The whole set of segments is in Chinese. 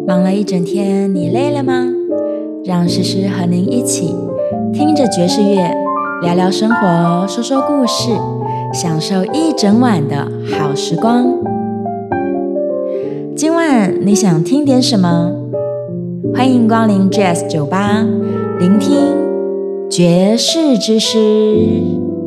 忙了一整天，你累了吗？让诗诗和您一起听着爵士乐，聊聊生活，说说故事，享受一整晚的好时光。今晚你想听点什么？欢迎光临 Jazz 酒吧，聆听爵士之诗。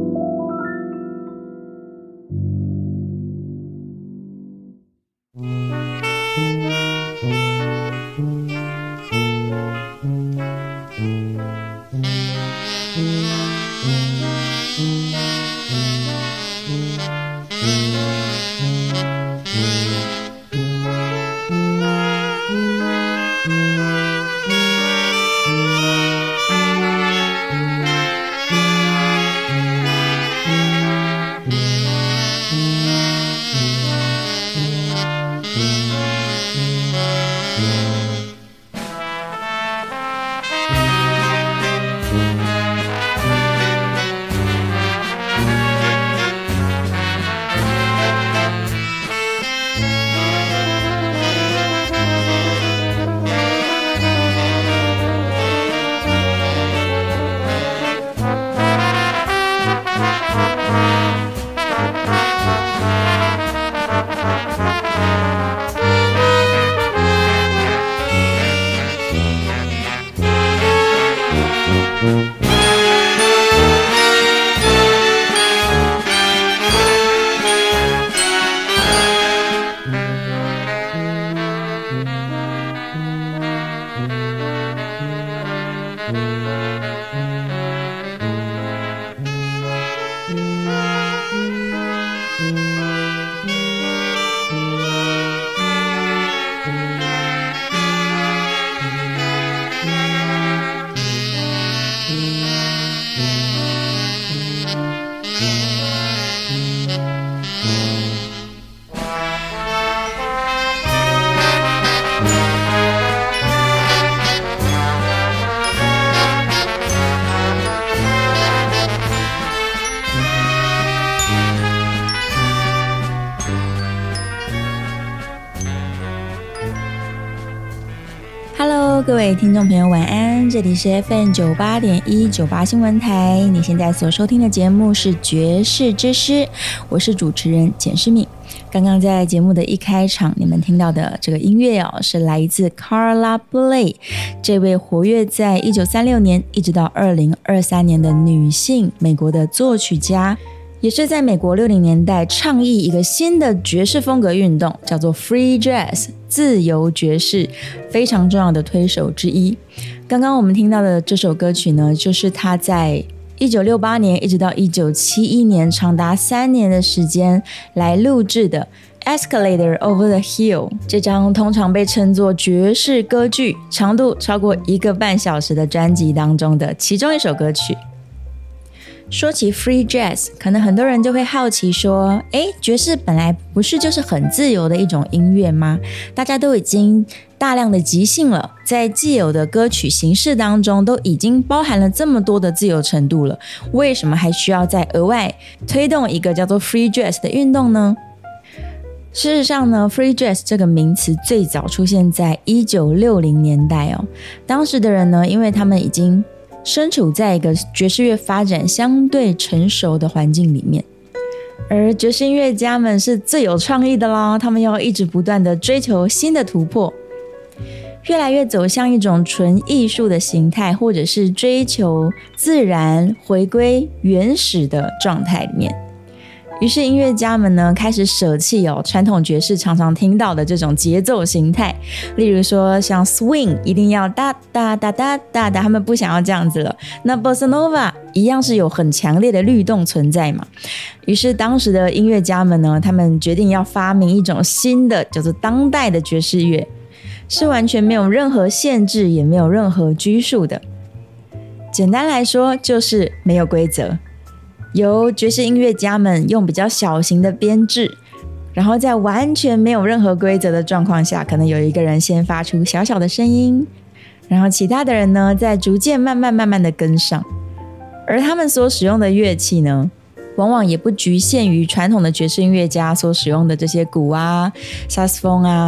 各位听众朋友晚安，这里是 FM98.1 98新闻台，你现在所收听的节目是爵士之诗，我是主持人简诗敏。刚刚在节目的一开场你们听到的这个音乐是来自 Carla Bley 这位活跃在1936年一直到2023年的女性美国的作曲家，也是在美国60年代倡议一个新的爵士风格运动，叫做 Free Jazz 自由爵士，非常重要的推手之一。刚刚我们听到的这首歌曲呢，就是他在1968年一直到1971年长达3年的时间来录制的 Escalator Over the Hill 这张通常被称作爵士歌剧，长度超过1个半小时的专辑当中的其中一首歌曲。说起 Free Jazz， 可能很多人就会好奇说，爵士本来不是就是很自由的一种音乐吗？大家都已经大量的即兴了，在既有的歌曲形式当中都已经包含了这么多的自由程度了，为什么还需要再额外推动一个叫做 Free Jazz 的运动呢？事实上呢， Free Jazz 这个名词最早出现在1960年代当时的人呢，因为他们已经身处在一个爵士乐发展相对成熟的环境里面，而爵士音乐家们是最有创意的啦，他们要一直不断的追求新的突破，越来越走向一种纯艺术的形态，或者是追求自然回归原始的状态里面。于是音乐家们呢开始舍弃传统爵士常常听到的这种节奏形态，例如说像 swing 一定要哒哒哒哒哒哒，他们不想要这样子了。那 bossa nova 一样是有很强烈的律动存在嘛。于是当时的音乐家们呢，他们决定要发明一种新的叫做当代的爵士乐，是完全没有任何限制也没有任何拘束的。简单来说就是没有规则，由爵士音乐家们用比较小型的编制，然后在完全没有任何规则的状况下，可能有一个人先发出小小的声音，然后其他的人呢再逐渐慢慢的跟上。而他们所使用的乐器呢，往往也不局限于传统的爵士音乐家所使用的这些鼓啊、萨克斯风啊，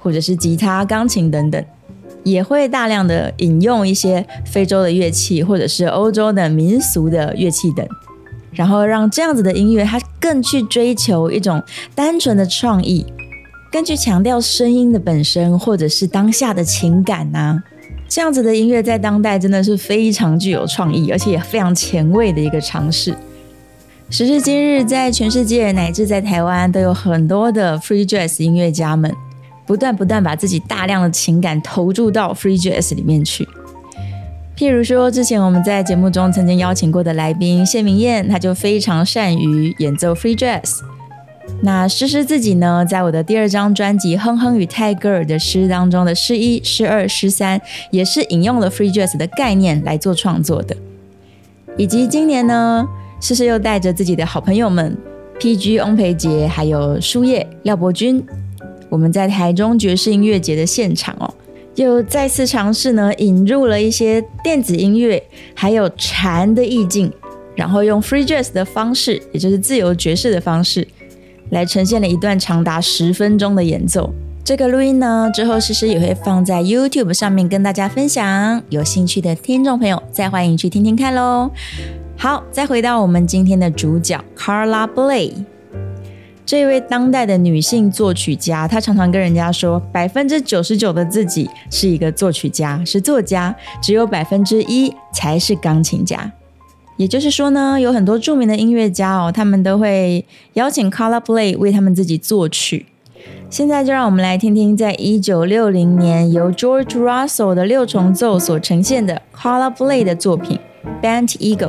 或者是吉他、钢琴等等，也会大量的引用一些非洲的乐器或者是欧洲的民俗的乐器等，然后让这样子的音乐它更去追求一种单纯的创意，更去强调声音的本身或者是当下的情感啊。这样子的音乐在当代真的是非常具有创意，而且也非常前卫的一个尝试。时至今日，在全世界乃至在台湾都有很多的 Free Jazz 音乐家们不断把自己大量的情感投注到 Free Jazz 里面去。譬如说之前我们在节目中曾经邀请过的来宾谢明燕，他就非常善于演奏 Free Jazz。那诗诗自己呢，在我的第2张专辑《哼哼与泰戈尔》的诗当中的诗1、诗2、诗3，也是引用了 Free Jazz 的概念来做创作的。以及今年呢，诗诗又带着自己的好朋友们 PG 翁培杰还有书叶廖伯君，我们在台中爵士音乐节的现场又再次尝试呢，引入了一些电子音乐还有禅的意境，然后用 Free Jazz 的方式，也就是自由爵士的方式来呈现了一段长达10分钟的演奏。这个录音呢，之后诗诗也会放在 YouTube 上面跟大家分享，有兴趣的听众朋友再欢迎去听听看咯。好，再回到我们今天的主角 Carla Bley。 这一位当代的女性作曲家，她常常跟人家说99%的自己是一个作曲家，是作家，只有1%才是钢琴家。也就是说呢，有很多著名的音乐家他们都会邀请 Carla Bley 为他们自己作曲。现在就让我们来听听在1960年由 George Russell 的6重奏所呈现的 Carla Bley 的作品 Bent Eagle。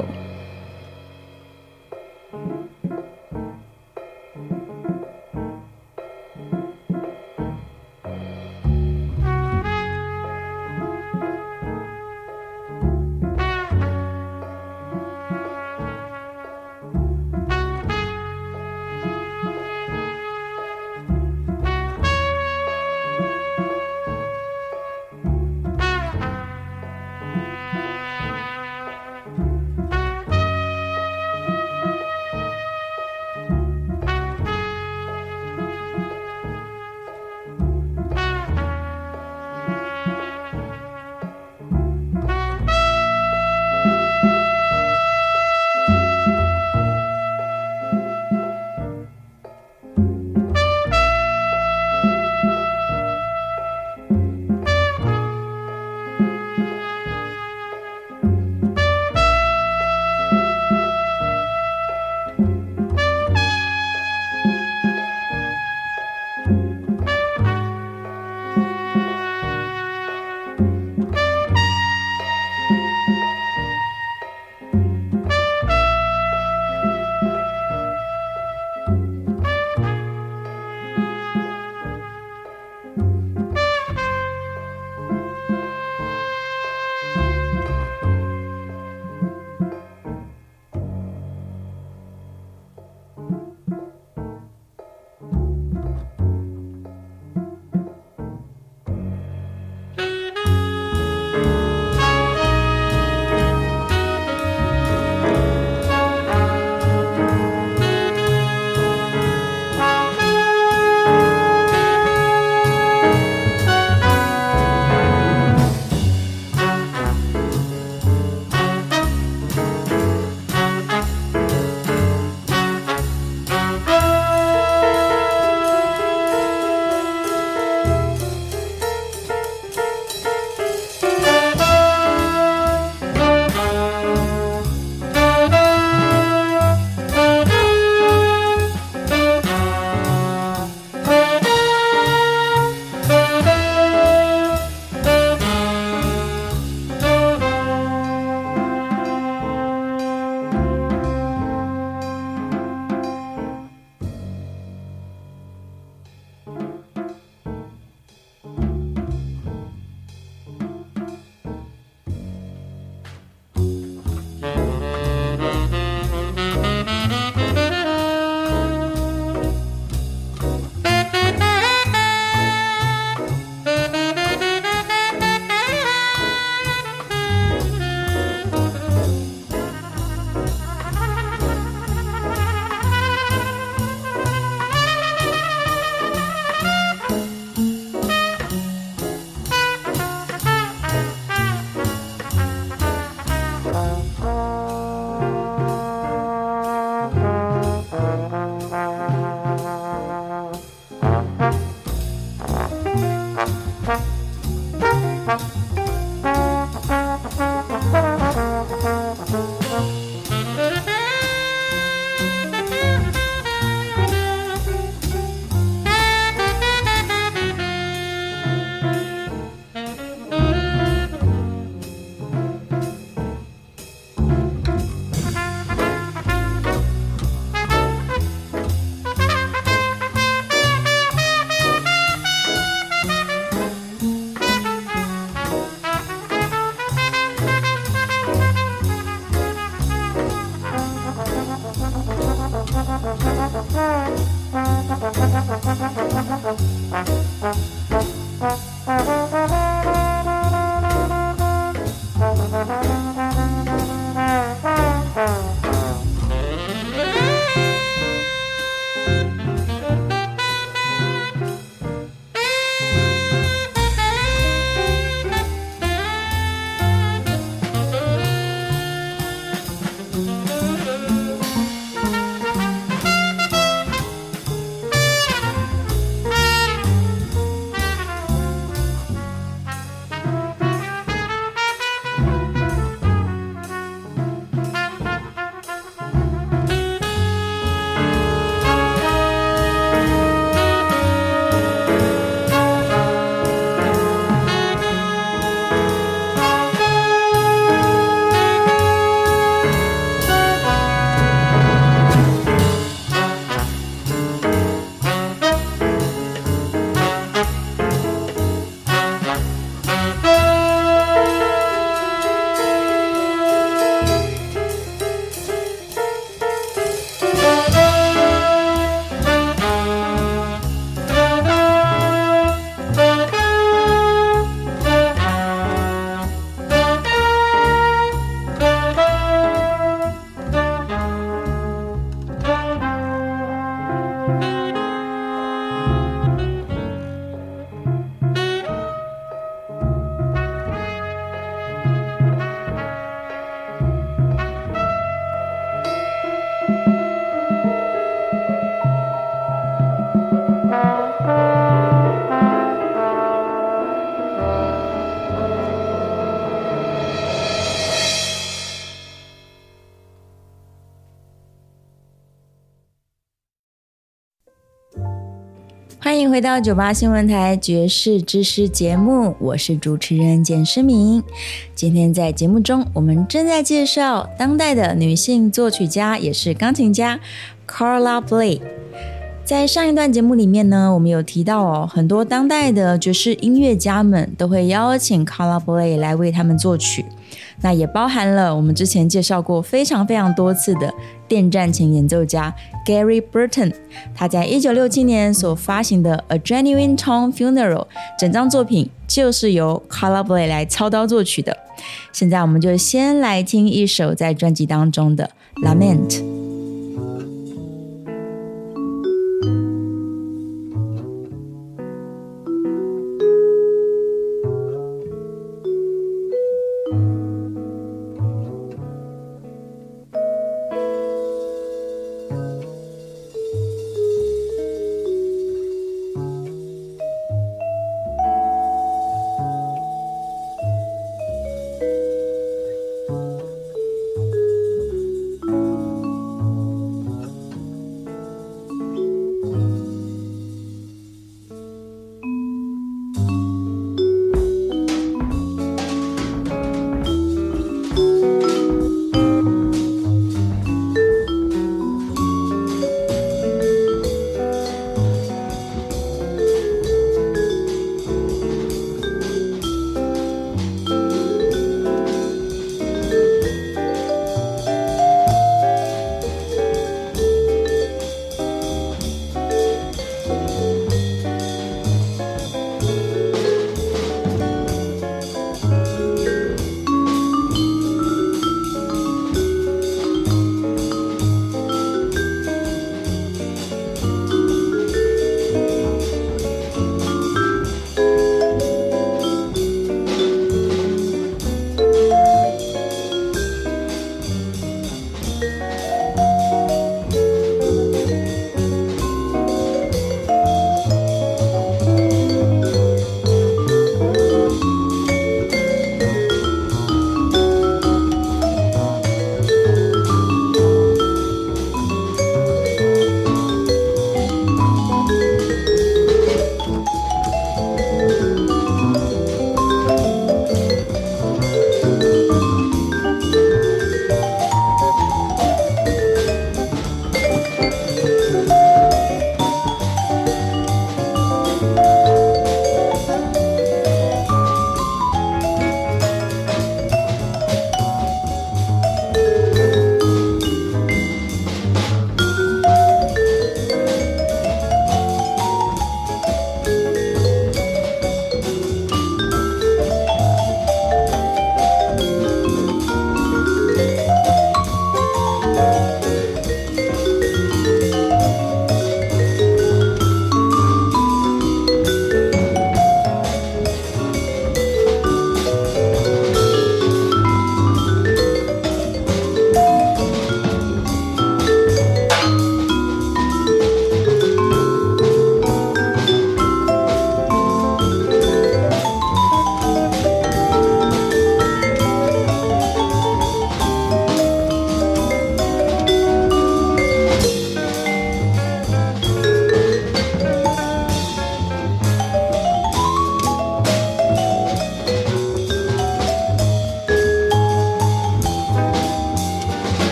欢迎回到98新闻台爵士之诗节目，我是主持人简诗明。今天在节目中，我们正在介绍当代的女性作曲家，也是钢琴家 Carla Bley。在上一段节目里面呢，我们有提到很多当代的爵士音乐家们都会邀请 Carla Bley 来为他们作曲，那也包含了我们之前介绍过非常多次的电战琴演奏家 Gary Burton， 他在1967年所发行的 A Genuine Tone Funeral 整张作品就是由 Carla Bley 来操刀作曲的。现在我们就先来听一首在专辑当中的 Lament。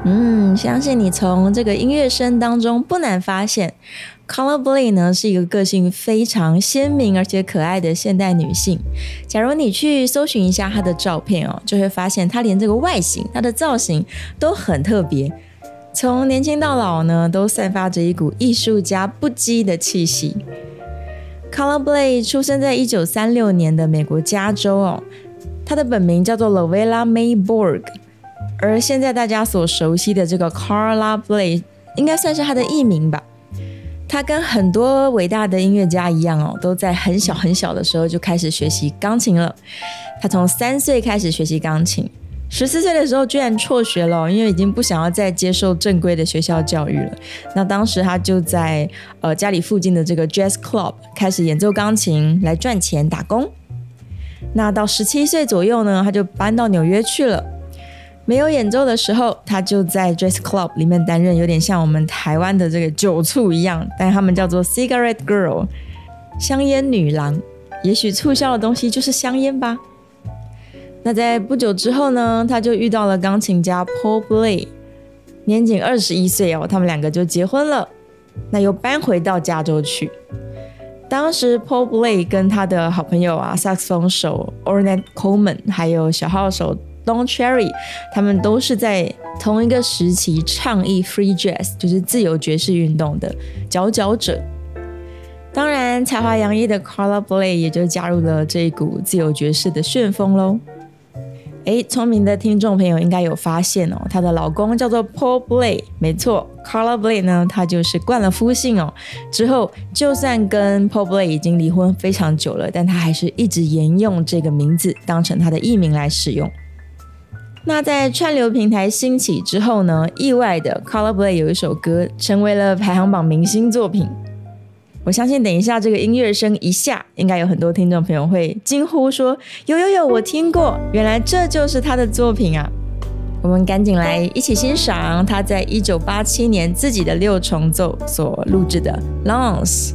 相信你从这个音乐声当中不难发现 Carla Bley 呢是一个个性非常鲜明而且可爱的现代女性。假如你去搜寻一下她的照片哦，就会发现她连这个外形、她的造型都很特别，从年轻到老呢都散发着一股艺术家不羁的气息。Carla Bley 出生在1936年的美国加州哦，她的本名叫做 Lovella May Borg，而现在大家所熟悉的这个 Carla Bley 应该算是她的艺名吧。她跟很多伟大的音乐家一样哦，都在很小很小的时候就开始学习钢琴了。她从3岁开始学习钢琴，14岁的时候居然辍学了，因为已经不想要再接受正规的学校教育了。那当时她就在家里附近的这个 Jazz Club 开始演奏钢琴来赚钱打工。那到17岁左右呢，她就搬到纽约去了。没有演奏的时候，他就在 Jazz Club 里面担任有点像我们台湾的这个酒促一样，但他们叫做 Cigarette Girl， 香烟女郎。也许促销的东西就是香烟吧。那在不久之后呢，他就遇到了钢琴家 Paul Bley， 年仅21岁哦，他们2个就结婚了。那又搬回到加州去。当时 Paul Bley 跟他的好朋友萨克斯风手 Ornette Coleman 还有小号手Don Cherry， 他们都是在同一个时期倡议 Free Jazz， 就是自由爵士运动的佼佼者。当然，才华洋溢的 Carla Bley 也就加入了这一股自由爵士的旋风咯。聪明的听众朋友应该有发现哦，她的老公叫做 Paul Bley， 没错 Carla Bley 呢，她就是冠了夫姓哦。之后就算跟 Paul Bley 已经离婚非常久了，但她还是一直沿用这个名字当成她的艺名来使用。那在串流平台兴起之后呢，意外的 Carla Bley 有一首歌成为了排行榜明星作品。我相信等一下这个音乐声一下，应该有很多听众朋友会惊呼说有我听过，原来这就是他的作品啊。我们赶紧来一起欣赏他在1987年自己的6重奏所录制的 Lance。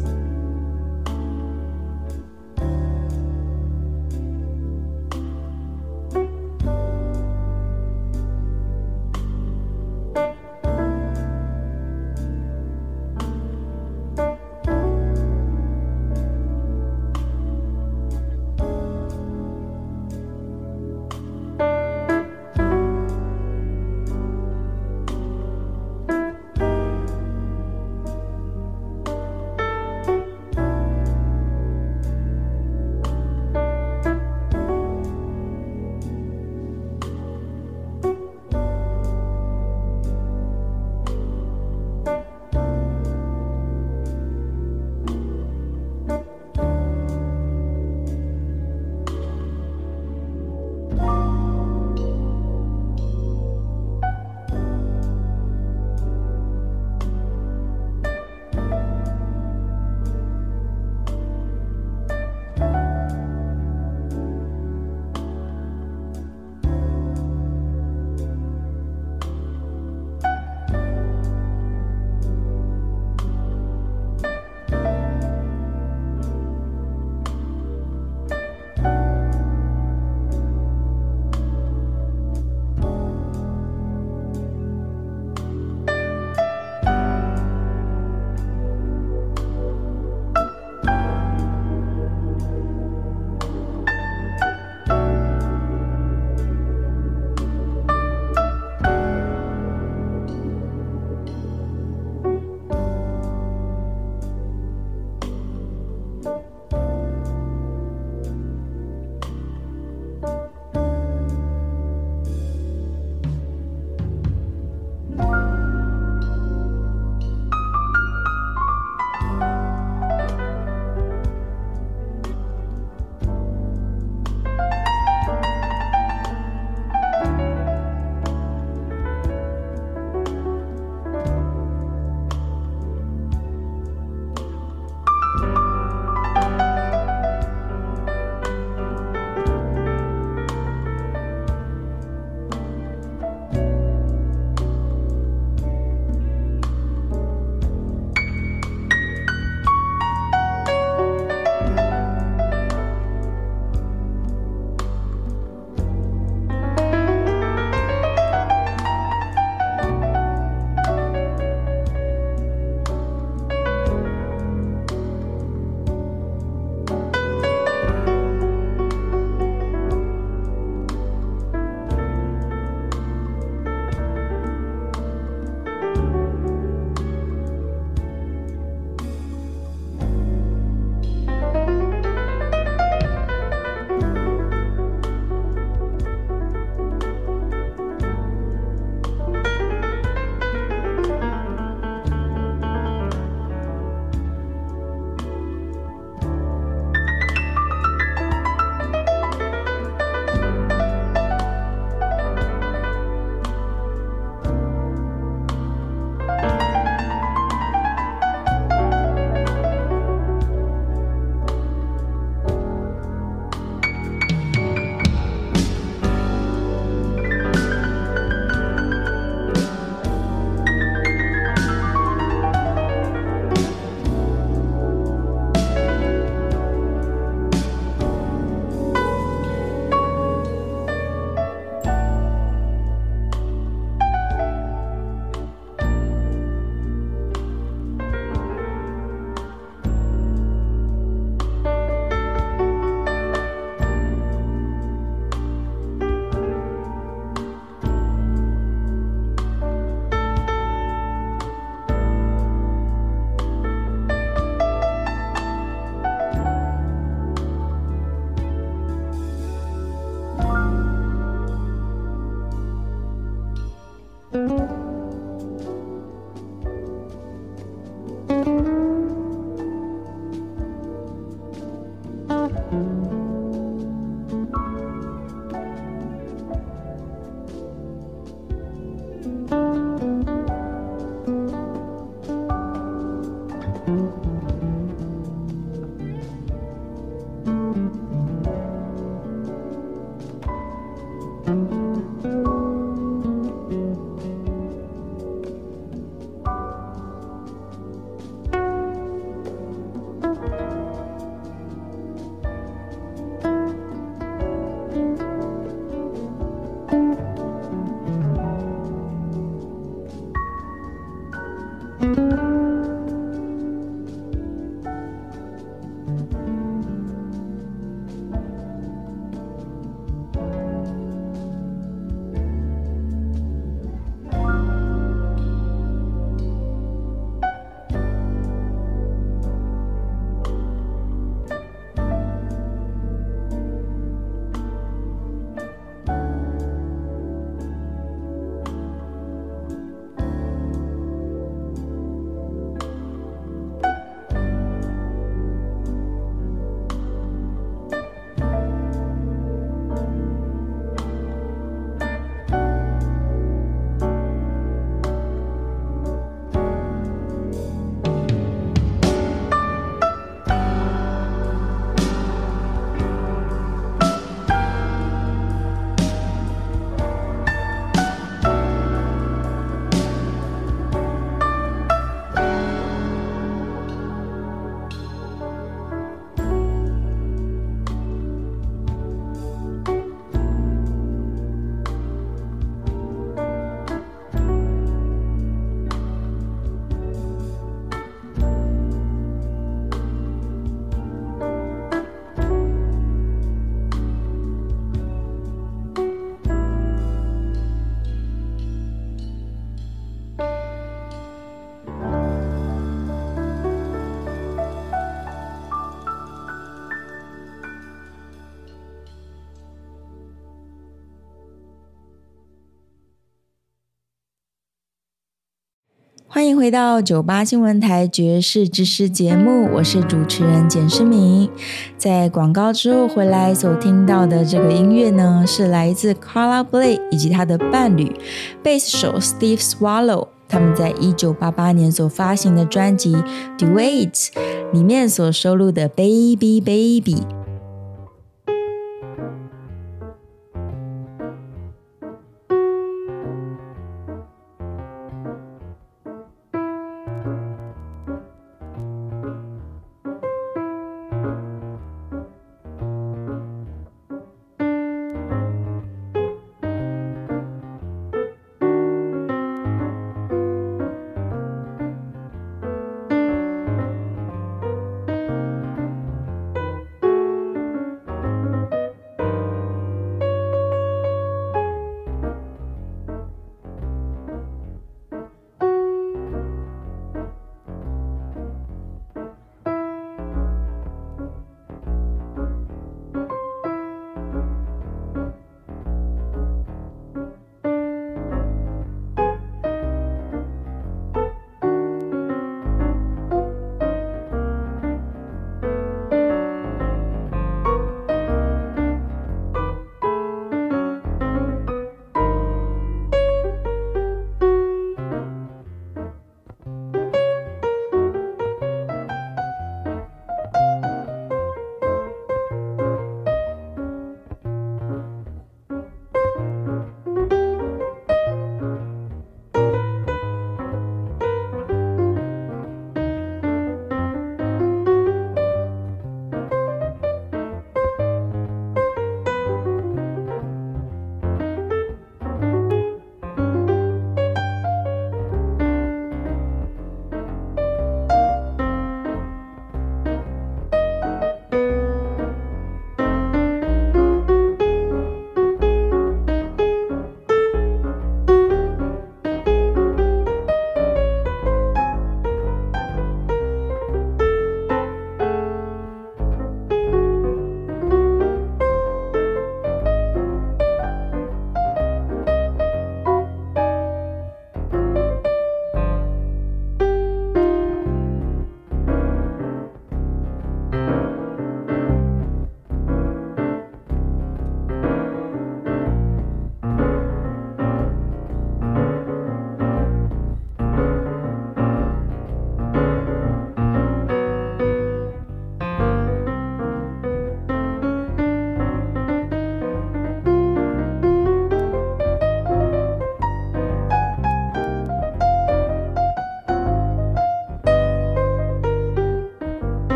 欢迎回到98新闻台爵士知识节目，我是主持人简诗明。在广告之后回来所听到的这个音乐呢，是来自 Carla Bley 以及他的伴侣贝斯手 Steve Swallow 他们在1988年所发行的专辑 Duets 里面所收录的 Baby Baby。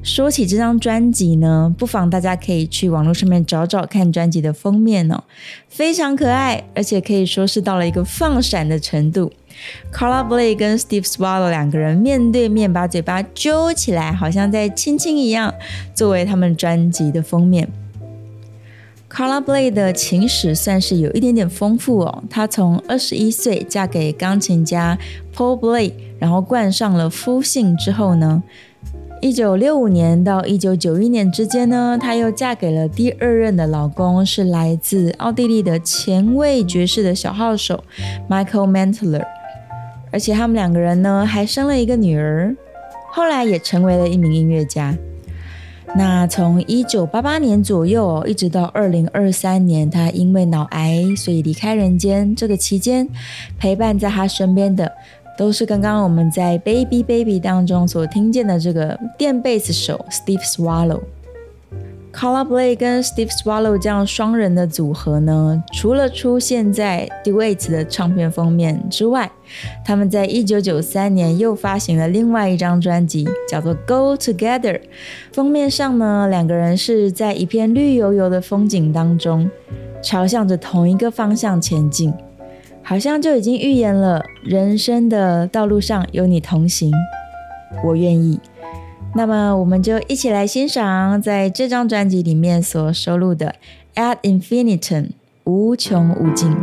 说起这张专辑呢，不妨大家可以去网络上面找找看专辑的封面哦，非常可爱，而且可以说是到了一个放闪的程度。Carla Bley 跟 Steve Swallow 两个人面对面把嘴巴揪起来，好像在亲亲一样，作为他们专辑的封面。Carla Bley 的情史算是有一点点丰富哦，她从21岁嫁给钢琴家 Paul Bley， 然后冠上了夫姓之后呢，1965年到1991年之间呢，她又嫁给了第二任的老公，是来自奥地利的前卫爵士的小号手 Michael Mentler， 而且他们两个人呢还生了一个女儿，后来也成为了一名音乐家。那从1988年左右一直到2023年，他因为脑癌所以离开人间。这个期间陪伴在他身边的都是刚刚我们在 Baby Baby 当中所听见的这个电贝斯手 Steve Swallow。Carla Bley 跟 Steve Swallow 这样双人的组合呢，除了出现在 Duets 的唱片封面之外，他们在1993年又发行了另外一张专辑，叫做 Go Together。 封面上呢，两个人是在一片绿油油的风景当中，朝向着同一个方向前进，好像就已经预言了人生的道路上有你同行，我愿意。那么我们就一起来欣赏在这张专辑里面所收录的 Ad Infinitum 无穷无尽。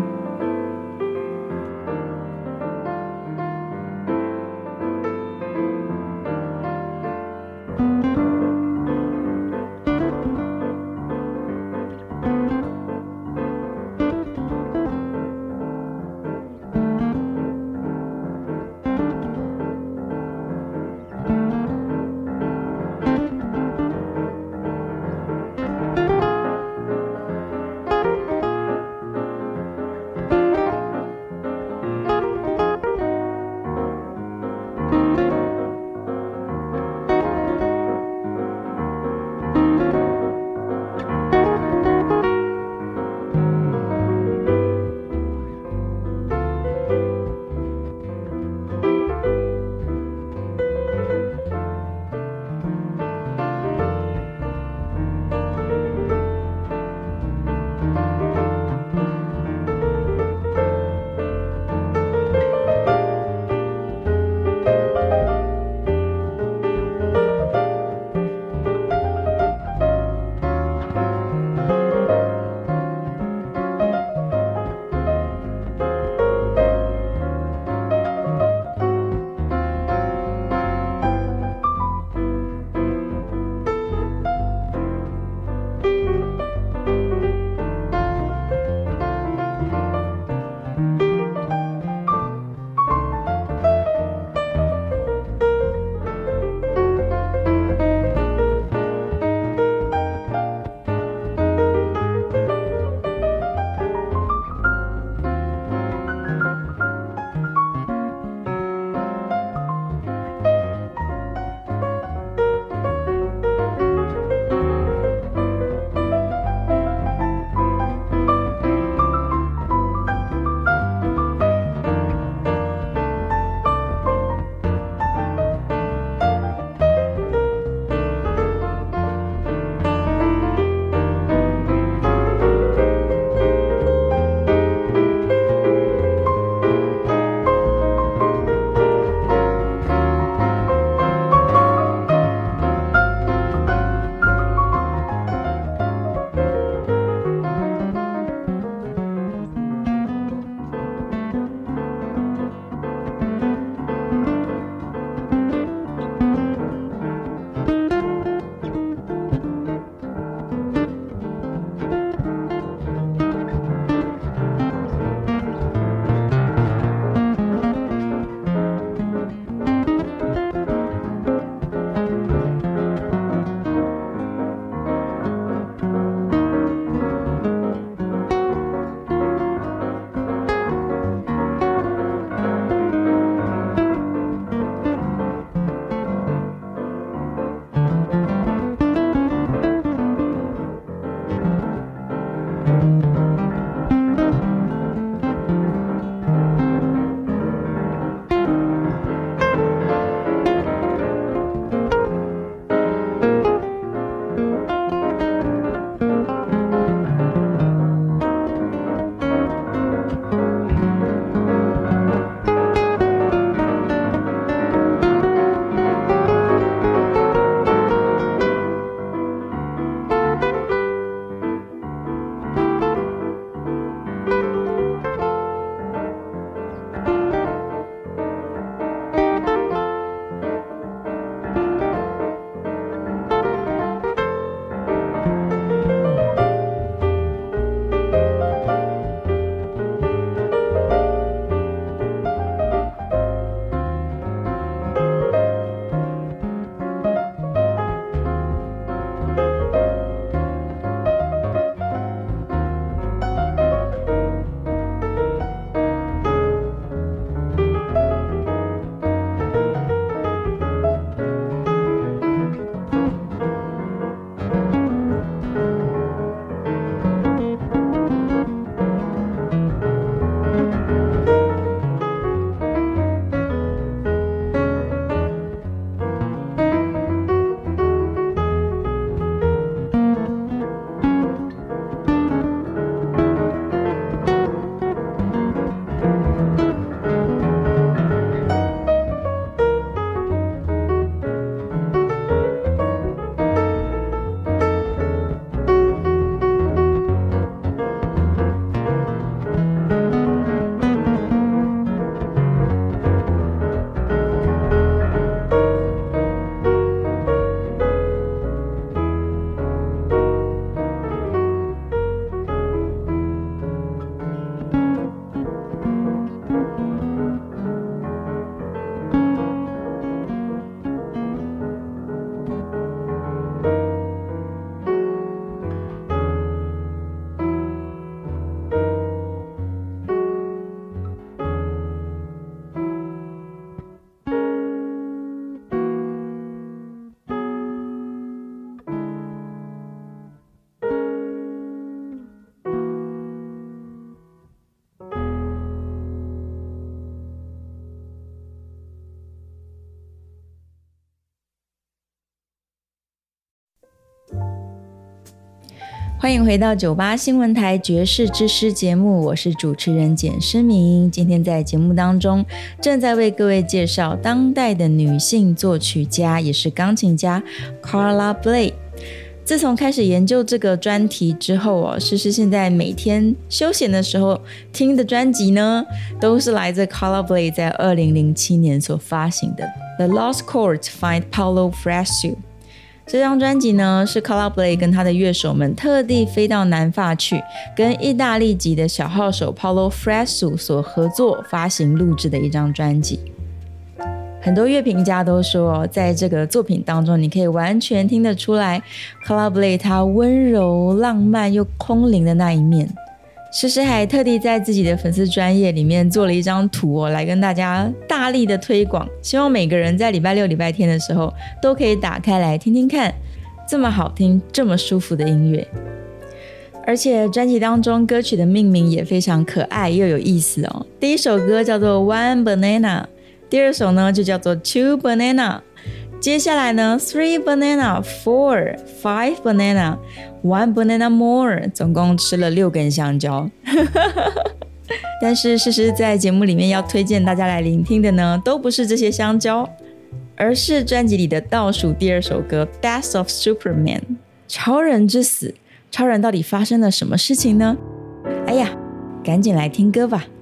欢迎回到98新闻台爵士之诗节目，我是主持人简诗明。今天在节目当中正在为各位介绍当代的女性作曲家，也是钢琴家 Carla Bley。自从开始研究这个专题之后诗诗现在每天休闲的时候听的专辑呢，都是来自 Carla Bley 在2007年所发行的 The Lost Chords Find Paolo Fresu。这张专辑呢，是 Carla Bley 跟他的乐手们特地飞到南法去，跟意大利籍的小号手 Paolo Fresu 所合作发行录制的一张专辑。很多乐评家都说，在这个作品当中，你可以完全听得出来 Carla Bley 他温柔、浪漫又空灵的那一面。诗诗还特地在自己的粉丝专页里面做了一张图来跟大家大力的推广，希望每个人在礼拜六、礼拜天的时候都可以打开来听听看，这么好听、这么舒服的音乐。而且专辑当中歌曲的命名也非常可爱又有意思第一首歌叫做 One Banana， 第二首呢就叫做 Two Banana， 接下来呢 Three Banana， Four， Five Banana， One Banana More， 总共吃了6根香蕉但是诗诗在节目里面要推荐大家来聆听的呢，都不是这些香蕉，而是专辑里的倒数第2首歌 Death of Superman， 超人之死。超人到底发生了什么事情呢？哎呀，赶紧来听歌吧。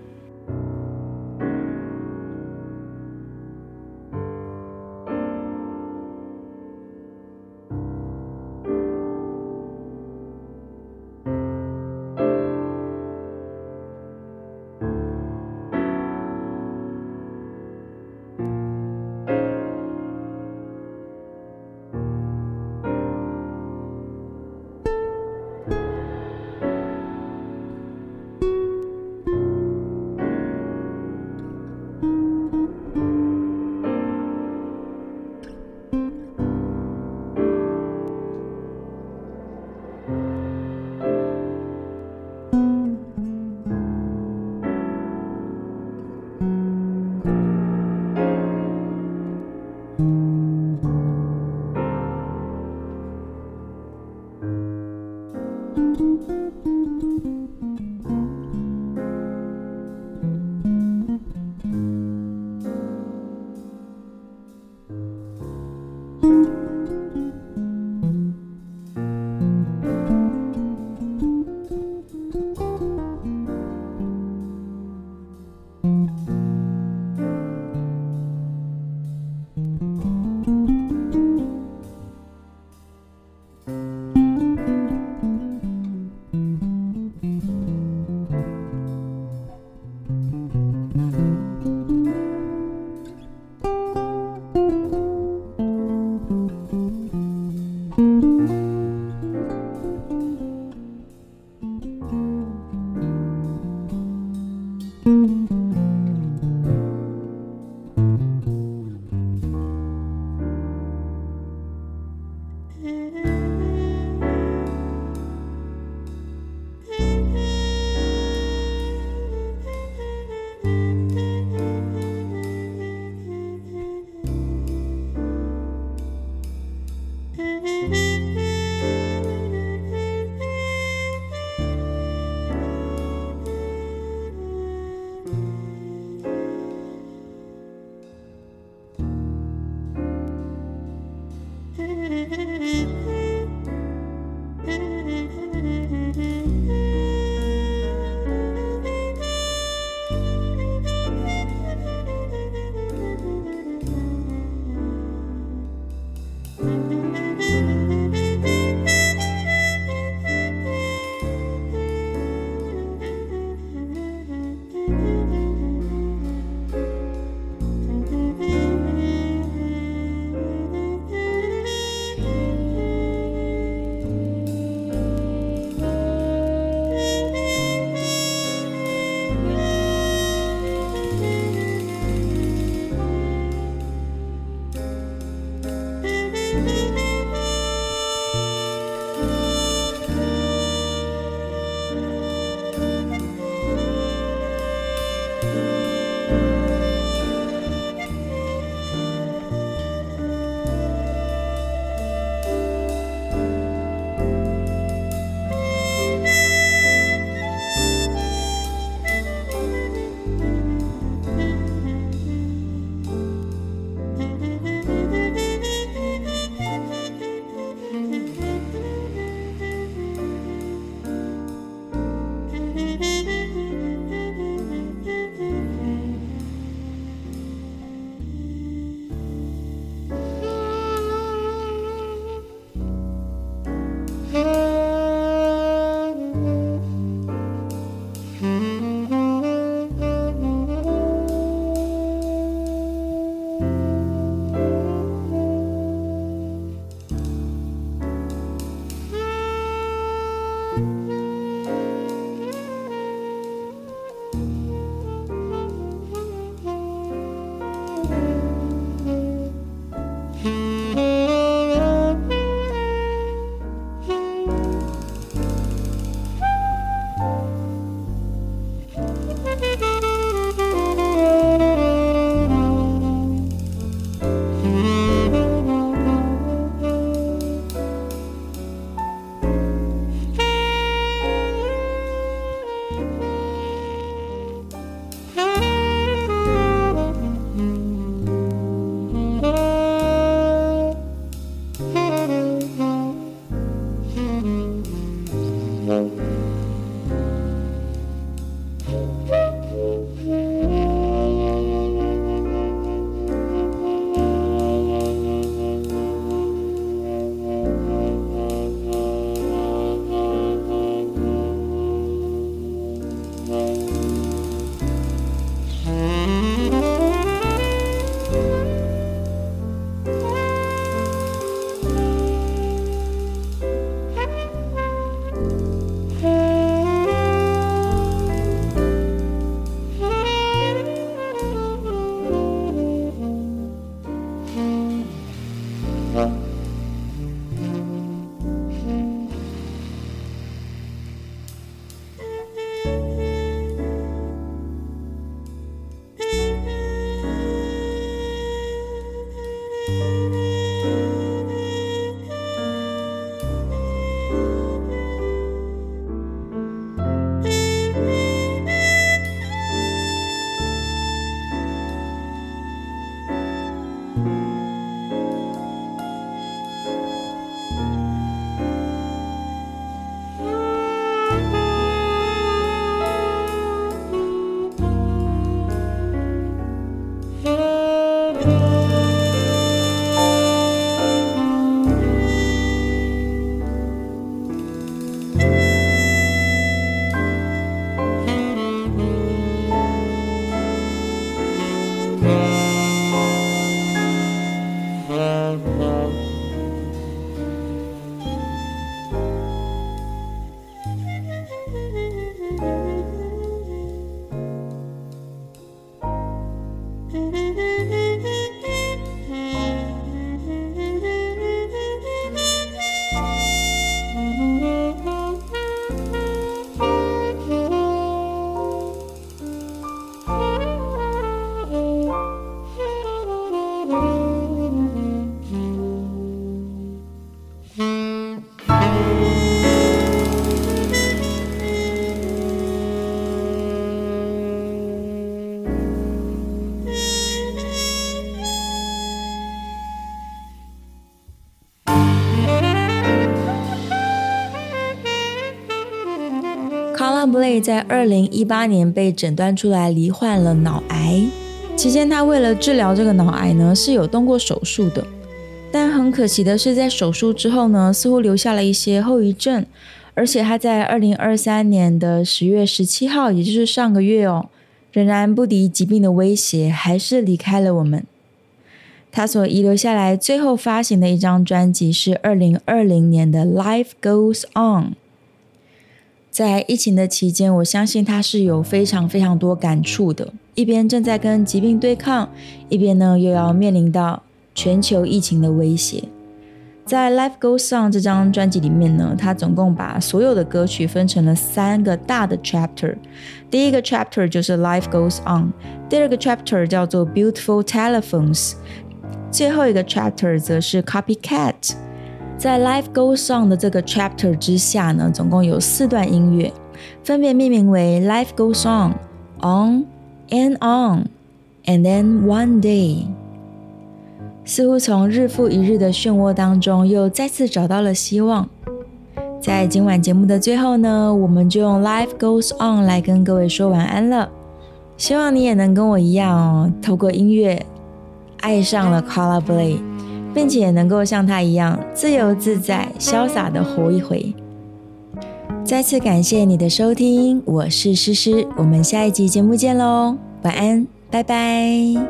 Colin Bley 在2018年被诊断出来罹患了脑癌，期间他为了治疗这个脑癌呢，是有动过手术的。但很可惜的是，在手术之后呢，似乎留下了一些后遗症，而且他在2023年的10月17号，也就是上个月仍然不敌疾病的威胁，还是离开了我们。他所遗留下来最后发行的一张专辑是2020年的 Life Goes On。 在疫情的期间，我相信他是有非常非常多感触的，一边正在跟疾病对抗，一边呢又要面临到全球疫情的威胁。在 Life Goes On 这张专辑里面呢，他总共把所有的歌曲分成了3个大的 chapter。 第一个 chapter 就是 Life Goes On， 第二个 chapter 叫做 Beautiful Telephones， 最后一个 chapter 则是 Copycat。 在 Life Goes On 的这个 chapter 之下呢，总共有4段音乐，分别命名为 Life Goes On, On and On, and then One Day。似乎从日复一日的漩涡当中又再次找到了希望。在今晚节目的最后呢，我们就用 Life Goes On 来跟各位说晚安了。希望你也能跟我一样透过音乐爱上了 Colin Bley， 并且能够像他一样自由自在潇洒的活一回。再次感谢你的收听，我是诗诗，我们下一集节目见咯，晚安，拜拜。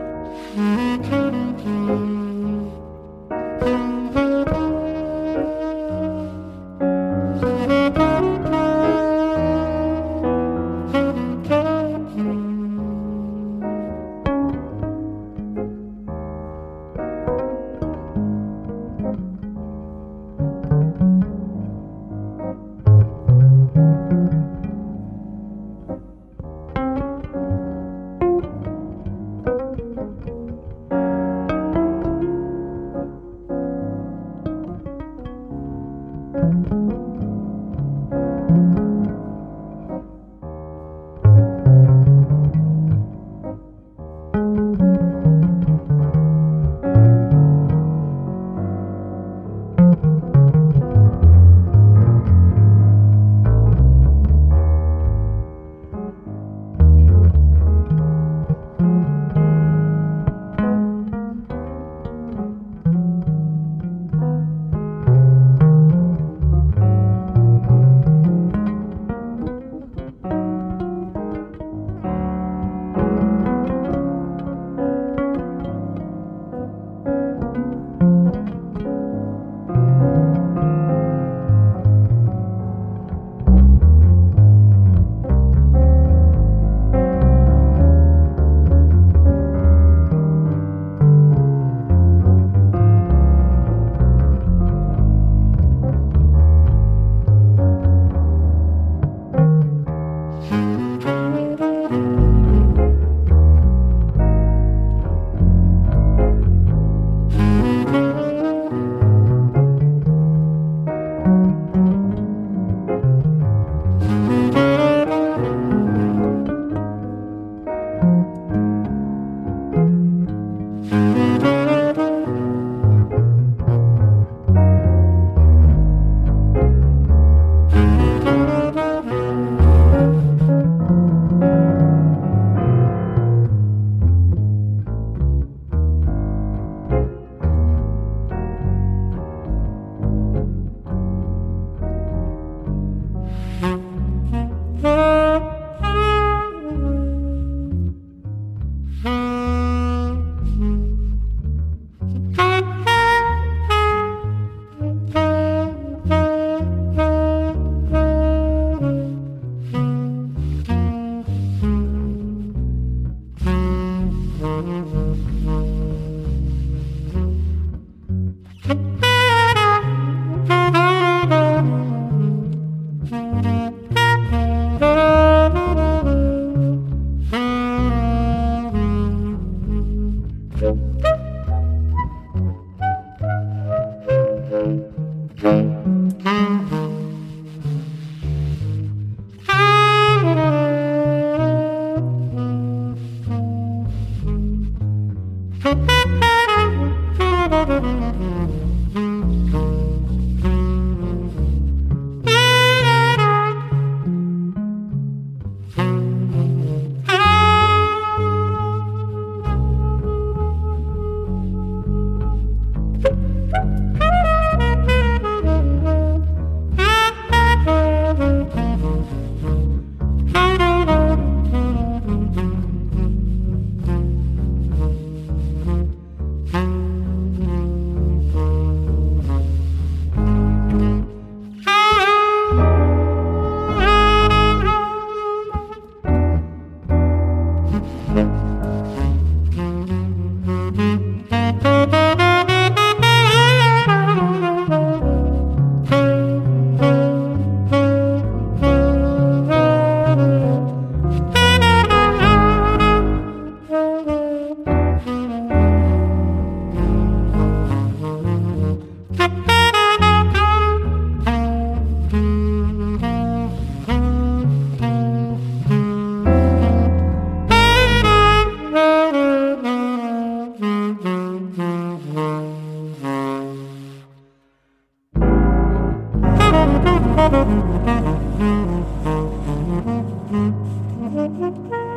Thank you.